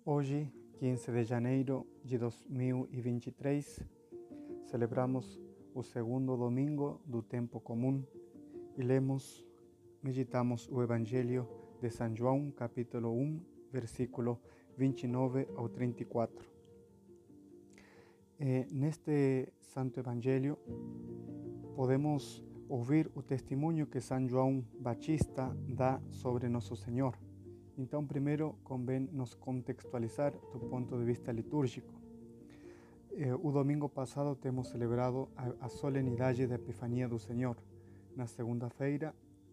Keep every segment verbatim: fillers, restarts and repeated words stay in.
Hoje, quinze de janeiro de dois mil e vinte e três, celebramos o segundo domingo do tempo comum e lemos, meditamos o Evangelho de São João, capítulo um, versículo vinte e nove ao trinta e quatro. E neste Santo Evangelho podemos ouvir o testemunho que São João Batista dá sobre Nosso Senhor. Então, primeiro, convém nos contextualizar do ponto de vista litúrgico. Eh, o domingo passado temos celebrado a, a solenidade da Epifania do Senhor. Na segunda-feira,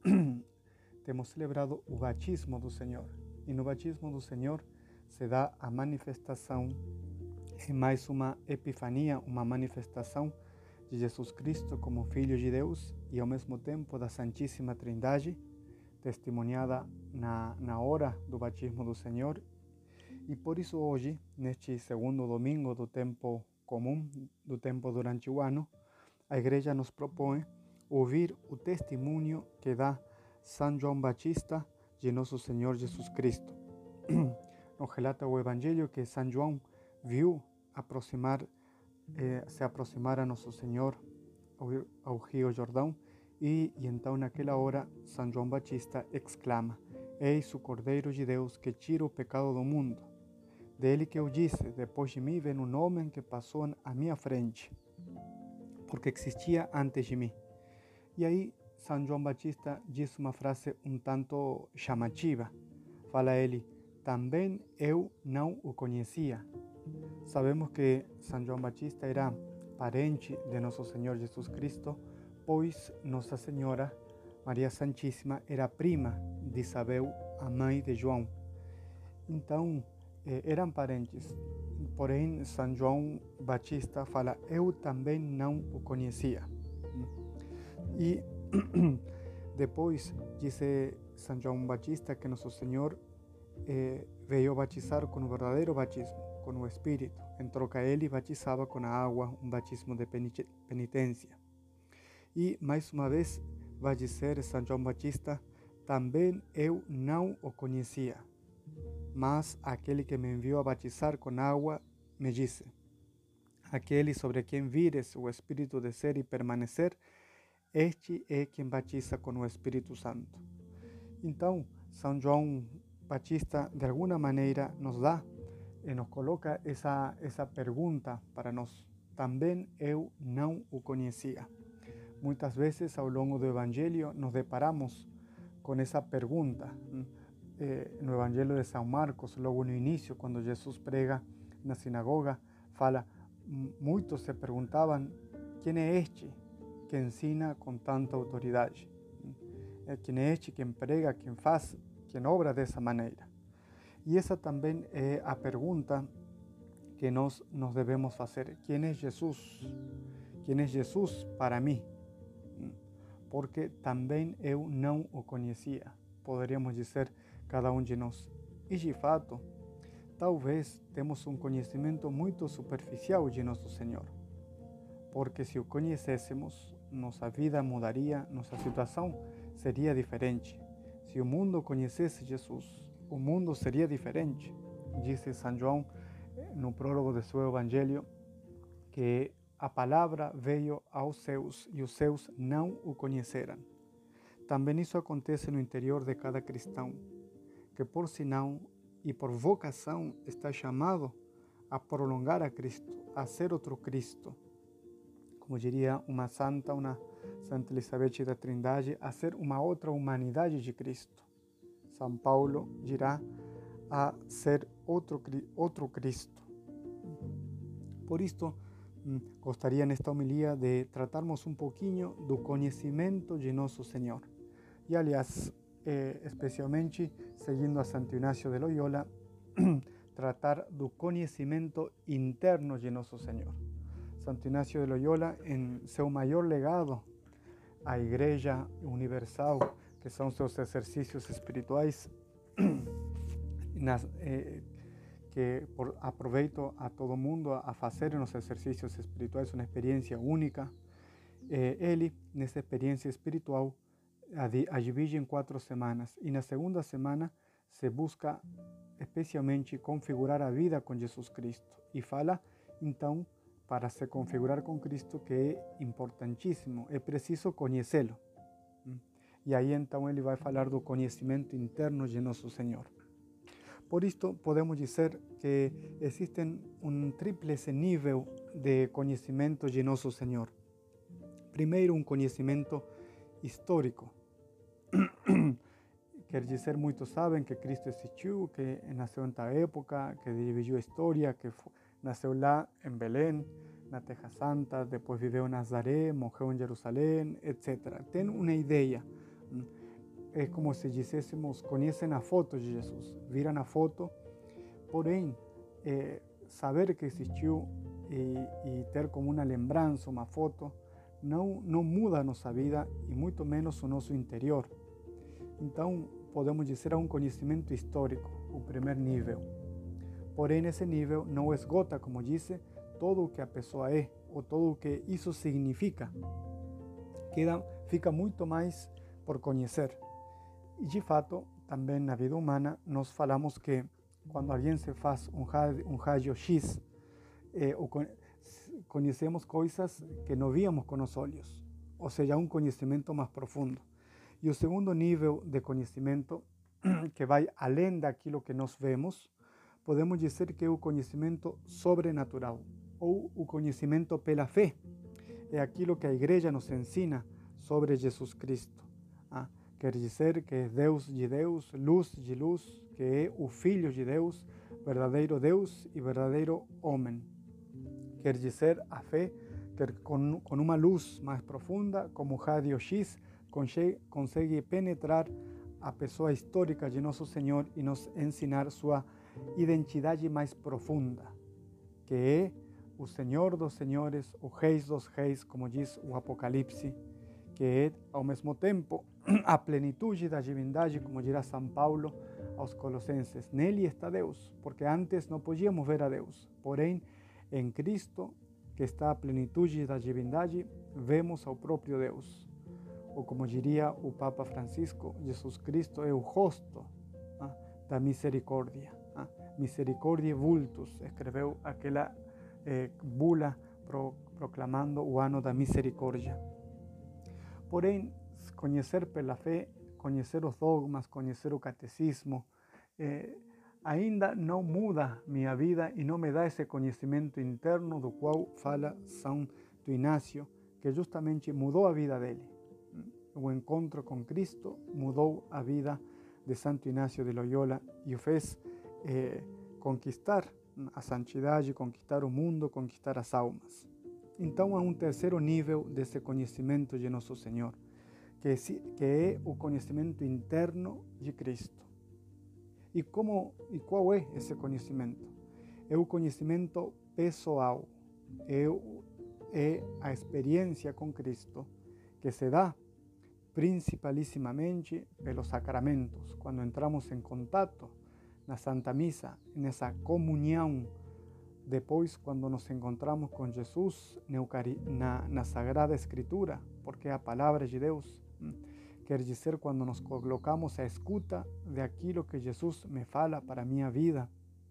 temos celebrado o batismo do Senhor. E no batismo do Senhor se dá a manifestação, e mais uma epifania, uma manifestação de Jesus Cristo como Filho de Deus e ao mesmo tempo da Santíssima Trindade, testemunhada na, na hora do batismo do Senhor. E por isso hoje, neste segundo domingo do tempo comum, do tempo durante o ano, a Igreja nos propõe ouvir o testemunho que dá São João Batista de Nosso Senhor Jesus Cristo. Nos relata o Evangelho que São João viu aproximar, eh, se aproximar a Nosso Senhor ao, ao Rio Jordão. E, e então naquela hora São João Batista exclama: Eis o Cordeiro de Deus que tira o pecado do mundo. Dele que eu disse: depois de mim vem um homem que passou à minha frente, porque existia antes de mim. E aí São João Batista diz uma frase um tanto chamativa. Fala ele: também eu não o conhecia. Sabemos que São João Batista era parente de Nosso Senhor Jesus Cristo, pois Nossa Senhora, Maria Santíssima, era prima de Isabel, a mãe de João. Então, eh, eram parentes. Porém, São João Batista fala: eu também não o conhecia. E depois disse São João Batista que Nosso Senhor eh, veio batizar com o verdadeiro batismo, com o Espírito. Em troca, ele batizava com a água, um batismo de penitência. E, mais uma vez, vai dizer São João Batista: também eu não o conhecia, mas aquele que me enviou a batizar com água me disse: aquele sobre quem vires o Espírito descer e permanecer, este é quem batiza com o Espírito Santo. Então, São João Batista, de alguma maneira, nos dá e nos coloca essa, essa pergunta para nós: também eu não o conhecia. Muitas vezes ao longo do Evangelho nos deparamos com essa pergunta. Eh, no Evangelho de São Marcos, logo no início, quando Jesus prega na sinagoga, fala: muitos se perguntavam: quem é este que ensina com tanta autoridade? Quem é este quem prega, quem faz, quem obra dessa maneira? E essa também é a pergunta que nós nos devemos fazer: quem é Jesus? Quem é Jesus para mim? Porque também eu não o conhecia, poderíamos dizer cada um de nós. E de fato, talvez temos um conhecimento muito superficial de Nosso Senhor, porque se o conhecêssemos, nossa vida mudaria, nossa situação seria diferente. Se o mundo conhecesse Jesus, o mundo seria diferente. Disse São João no prólogo de seu Evangelho que a palavra veio aos seus e os seus não o conheceram. Também isso acontece no interior de cada cristão, que por sinal e por vocação está chamado a prolongar a Cristo, a ser outro Cristo. Como diria uma santa, uma Santa Elizabeth da Trindade, a ser uma outra humanidade de Cristo. São Paulo dirá: a ser outro, outro Cristo. Por isto, gostaria nesta homilia de tratarmos um pouquinho do conhecimento de Nosso Senhor. E, aliás, eh, especialmente seguindo a Santo Inácio de Loyola, tratar do conhecimento interno de Nosso Senhor. Santo Inácio de Loyola, em seu maior legado à Igreja Universal, que são seus exercícios espirituais, nas, eh, que por, aproveito a todo mundo a fazer nos exercícios espirituais uma experiência única. Eh, ele, nessa experiência espiritual, a, a divide em quatro semanas, e na segunda semana se busca especialmente configurar a vida com Jesus Cristo. E fala, então, para se configurar com Cristo, que é importantíssimo, é preciso conhecê-lo. E aí então ele vai falar do conhecimento interno de nosso Senhor. Por isto, podemos dizer que existe um tríplice nível de conhecimento de nosso Senhor. Primeiro, um conhecimento histórico. Quer dizer, muitos sabem que Cristo existiu, que nasceu em tal época, que dividiu a história, que nasceu lá em Belém, na Terra Santa, depois viveu em Nazaré, morreu em Jerusalém, etcétera. Tem uma ideia. É como se disséssemos, conhecem a foto de Jesus, viram a foto, porém, é, saber que existiu e, e ter como uma lembrança, uma foto, não, não muda a nossa vida e muito menos o nosso interior. Então, podemos dizer a um conhecimento histórico, o primeiro nível. Porém, esse nível não esgota, como disse, todo o que a pessoa é, ou todo o que isso significa. Queda, fica muito mais por conhecer. E, de fato, também na vida humana, nós falamos que quando alguém se faz um raio-x, eh, conhecemos coisas que não víamos com os olhos, ou seja, um conhecimento mais profundo. E o segundo nível de conhecimento, que vai além daquilo que nós vemos, podemos dizer que é o conhecimento sobrenatural, ou o conhecimento pela fé. É aquilo que a igreja nos ensina sobre Jesus Cristo. Ah, quer dizer que é Deus de Deus, luz de luz, que é o Filho de Deus, verdadeiro Deus e verdadeiro homem. Quer dizer, a fé que com, com uma luz mais profunda, como o raio-x, consegue penetrar a pessoa histórica de nosso Senhor e nos ensinar sua identidade mais profunda, que é o Senhor dos Senhores, o Rei dos Reis, como diz o Apocalipse, que é, ao mesmo tempo, a plenitude da divindade, como dirá São Paulo aos Colossenses. Nele está Deus, porque antes não podíamos ver a Deus. Porém, em Cristo, que está a plenitude da divindade, vemos ao próprio Deus. Ou como diria o Papa Francisco, Jesus Cristo é o rosto ah, da misericórdia. Ah, Misericórdia vultus, escreveu aquela eh, bula pro, proclamando o ano da misericórdia. Porém, conhecer pela fé, conhecer os dogmas, conhecer o catecismo, eh, ainda não muda minha vida e não me dá esse conhecimento interno do qual fala São Inácio, que justamente mudou a vida dele. O encontro com Cristo mudou a vida de Santo Inácio de Loyola e o fez eh, conquistar a santidade, conquistar o mundo, conquistar as almas. Então há um terceiro nível desse conhecimento de nosso Senhor, que é, que é o conhecimento interno de Cristo. E, como, e qual é esse conhecimento? É o conhecimento pessoal, é, é a experiência com Cristo, que se dá principalissimamente pelos sacramentos, quando entramos em contato na Santa Missa, nessa comunhão, depois quando nos encontramos com Jesus na, na Sagrada Escritura, porque é a palavra de Deus, quer dizer, quando nos colocamos à escuta de aquilo que Jesus me fala para a minha vida.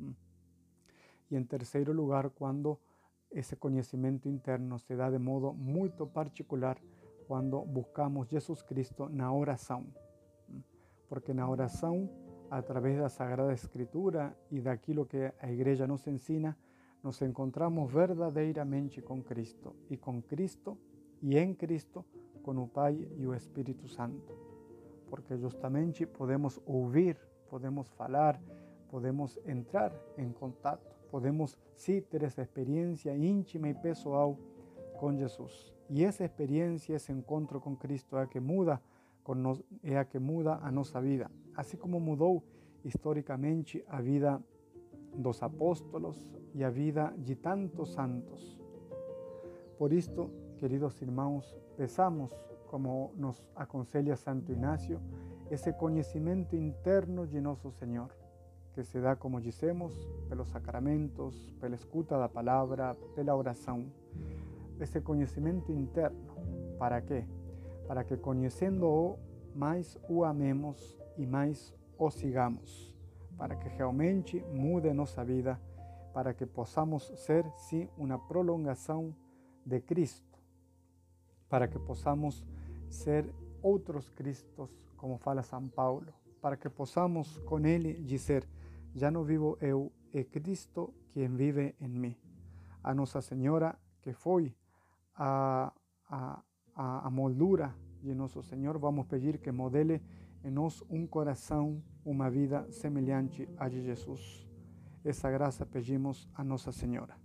E em terceiro lugar, quando esse conhecimento interno se dá de modo muito particular, quando buscamos Jesus Cristo na oração. Porque na oração, através da Sagrada Escritura e daquilo que a Igreja nos ensina, nos encontramos verdadeiramente com Cristo, e com Cristo e em Cristo, com o Pai e o Espírito Santo. Porque justamente podemos ouvir, podemos falar, podemos entrar em contato, podemos sim ter essa experiência íntima e pessoal com Jesus. E essa experiência, esse encontro com Cristo é a que muda, é a que muda a nossa vida. Assim como mudou historicamente a vida dos apóstolos e a vida de tantos santos. Por isto, queridos irmãos, peçamos, como nos aconselha Santo Inácio, esse conhecimento interno de nosso Senhor, que se dá, como dissemos, pelos sacramentos, pela escuta da palavra, pela oração. Esse conhecimento interno, para quê? Para que, conhecendo-o, mais o amemos e mais o sigamos, para que realmente mude nossa vida, para que possamos ser, sim, uma prolongação de Cristo, para que possamos ser outros Cristos, como fala São Paulo, para que possamos com Ele dizer: já não vivo eu, é Cristo quem vive em mim. A Nossa Senhora, que foi a, a, a, a moldura de nosso Senhor, vamos pedir que modele em nós um coração, uma vida semelhante a de Jesus. Essa graça pedimos a Nossa Senhora.